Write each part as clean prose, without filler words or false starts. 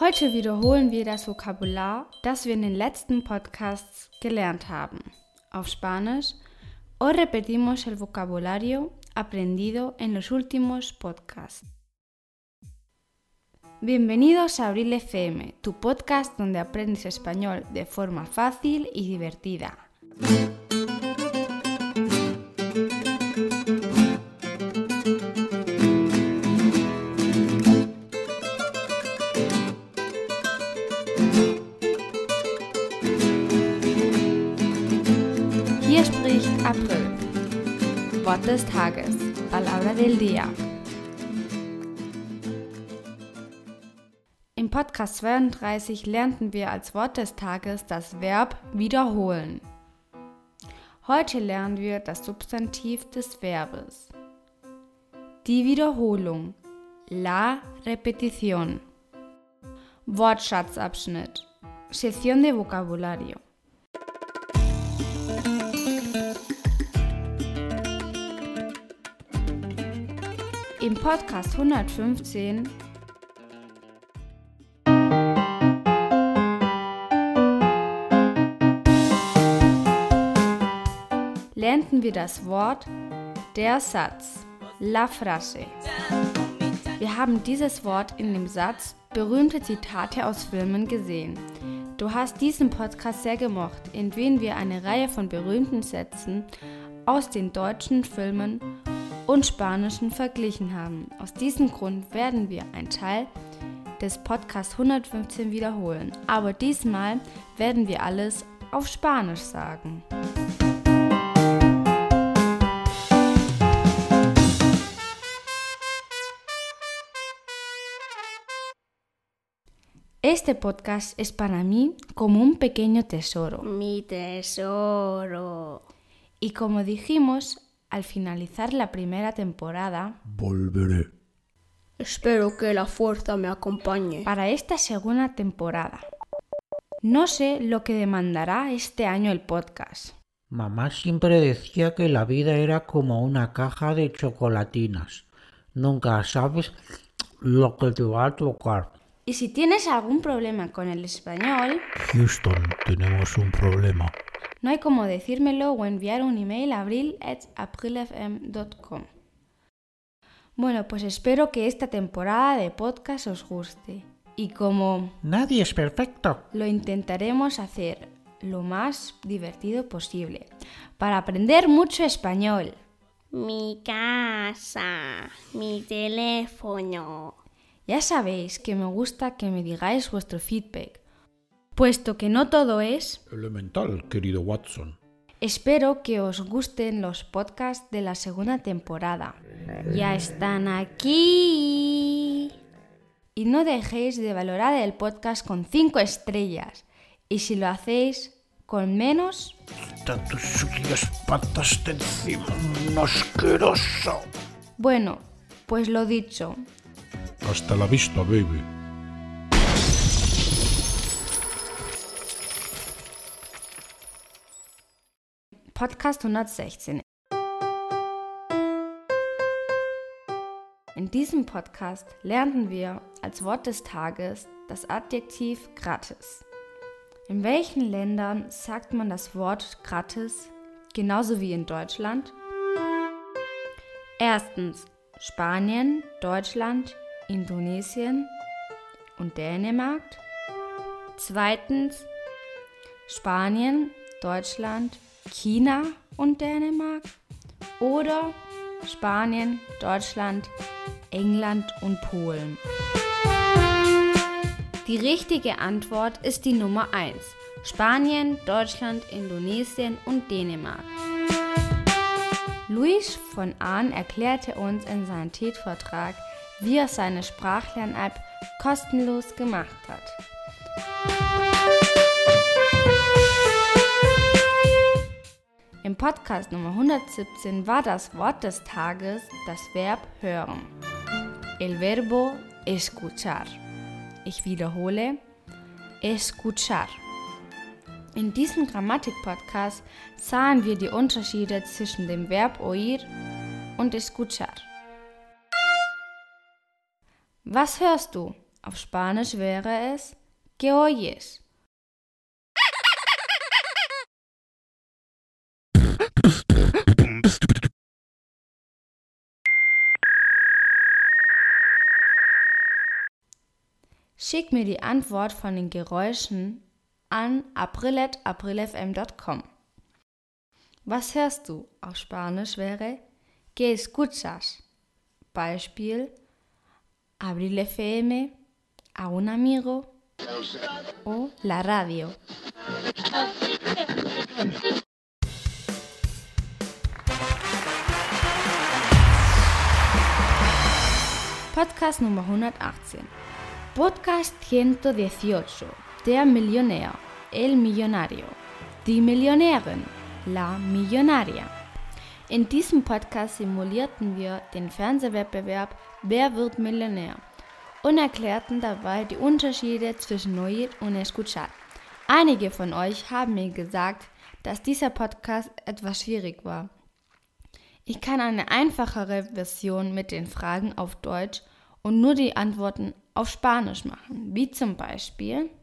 Heute wiederholen wir das Vokabular, das wir in den letzten Podcasts gelernt haben. Auf Spanisch, hoy repetimos el vocabulario aprendido en los últimos podcasts. Bienvenidos a Abril FM, tu podcast donde aprendes español de forma fácil y divertida. Hier spricht April. Wort des Tages, Palabra del Día. Im Podcast 32 lernten wir als Wort des Tages das Verb wiederholen. Heute lernen wir das Substantiv des Verbes. Die Wiederholung, la repetición. Wortschatzabschnitt, sección de vocabulario. Im Podcast 115 lernten wir das Wort der Satz, la frase. Wir haben dieses Wort in dem Satz berühmte Zitate aus Filmen gesehen. Du hast diesen Podcast sehr gemocht, in dem wir eine Reihe von berühmten Sätzen aus den deutschen Filmen und spanischen verglichen haben. Aus diesem Grund werden wir einen Teil des Podcasts 115 wiederholen, aber diesmal werden wir alles auf Spanisch sagen. Este podcast es para mí como un pequeño tesoro. Mi tesoro. Y como dijimos, al finalizar la primera temporada, volveré. Espero que la fuerza me acompañe. Para esta segunda temporada. No sé lo que demandará este año el podcast. Mamá siempre decía que la vida era como una caja de chocolatinas. Nunca sabes lo que te va a tocar. Y si tienes algún problema con el español, Houston, tenemos un problema. No hay como decírmelo o enviar un email a abril@aprilfm.com. Bueno, pues espero que esta temporada de podcast os guste. Y como Nadie es perfecto. lo intentaremos hacer lo más divertido posible, para aprender mucho español. Mi casa. Mi teléfono. Ya sabéis que me gusta que me digáis vuestro feedback, puesto que no todo es. Elemental, querido Watson. Espero que os gusten los podcasts de la segunda temporada. Ya están aquí. Y no dejéis de valorar el podcast con 5 estrellas. Y si lo hacéis con menos, Quita tus sucias patas de encima, un asqueroso. bueno, pues lo dicho. Hasta la vista, baby. Podcast 116. In diesem Podcast lernten wir als Wort des Tages das Adjektiv gratis. In welchen Ländern sagt man das Wort gratis genauso wie in Deutschland? Erstens Spanien, Deutschland, Indonesien und Dänemark. Zweitens Spanien, Deutschland, China und Dänemark. Oder Spanien, Deutschland, England und Polen. Die richtige Antwort ist die Nummer 1. Spanien, Deutschland, Indonesien und Dänemark. Luis von Ahn erklärte uns in seinem TED-Vortrag, wie er seine Sprachlern-App kostenlos gemacht hat. Im Podcast Nummer 117 war das Wort des Tages das Verb hören. El verbo escuchar. Ich wiederhole, escuchar. In diesem Grammatik-Podcast sahen wir die Unterschiede zwischen dem Verb oír und escuchar. Was hörst du? Auf Spanisch wäre es ¿Qué oyes? Schick mir die Antwort von den Geräuschen an april@aprilfm.com. Was hörst du? Auf Spanisch wäre ¿Qué escuchas? Beispiel Abril FM, a un amigo o la radio. Podcast Nummer 118. Podcast 118. Der Millionär, el millonario. Die Millionärin, la millonaria. In diesem Podcast simulierten wir den Fernsehwettbewerb Wer wird Millionär und erklärten dabei die Unterschiede zwischen oír und escuchar. Einige von euch haben mir gesagt, dass dieser Podcast etwas schwierig war. Ich kann eine einfachere Version mit den Fragen auf Deutsch und nur die Antworten auf Spanisch machen, wie zum Beispiel.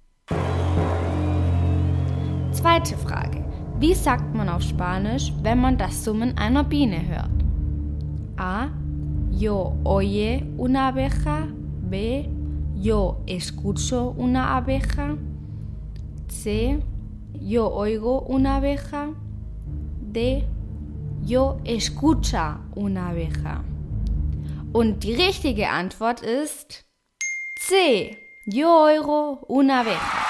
Zweite Frage. Wie sagt man auf Spanisch, wenn man das Summen einer Biene hört? A. Yo oye una abeja. B. Yo escucho una abeja. C. Yo oigo una abeja. D. Yo escucha una abeja. Und die richtige Antwort ist C. Yo oigo una abeja.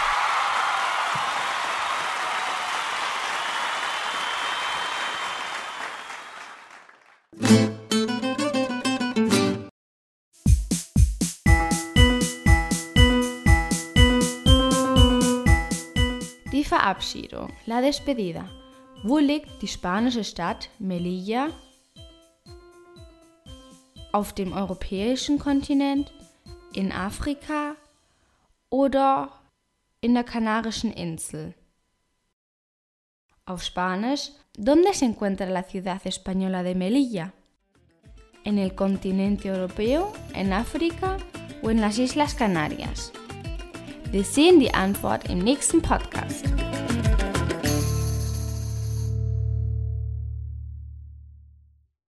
Die Verabschiedung, la despedida. Wo liegt die spanische Stadt Melilla? Auf dem europäischen Kontinent, in Afrika oder in der Kanarischen Insel? Auf Spanisch, ¿dónde se encuentra la ciudad española de Melilla? ¿En el continente europeo, en Afrika o en las Islas Canarias? Wir sehen die Antwort im nächsten Podcast.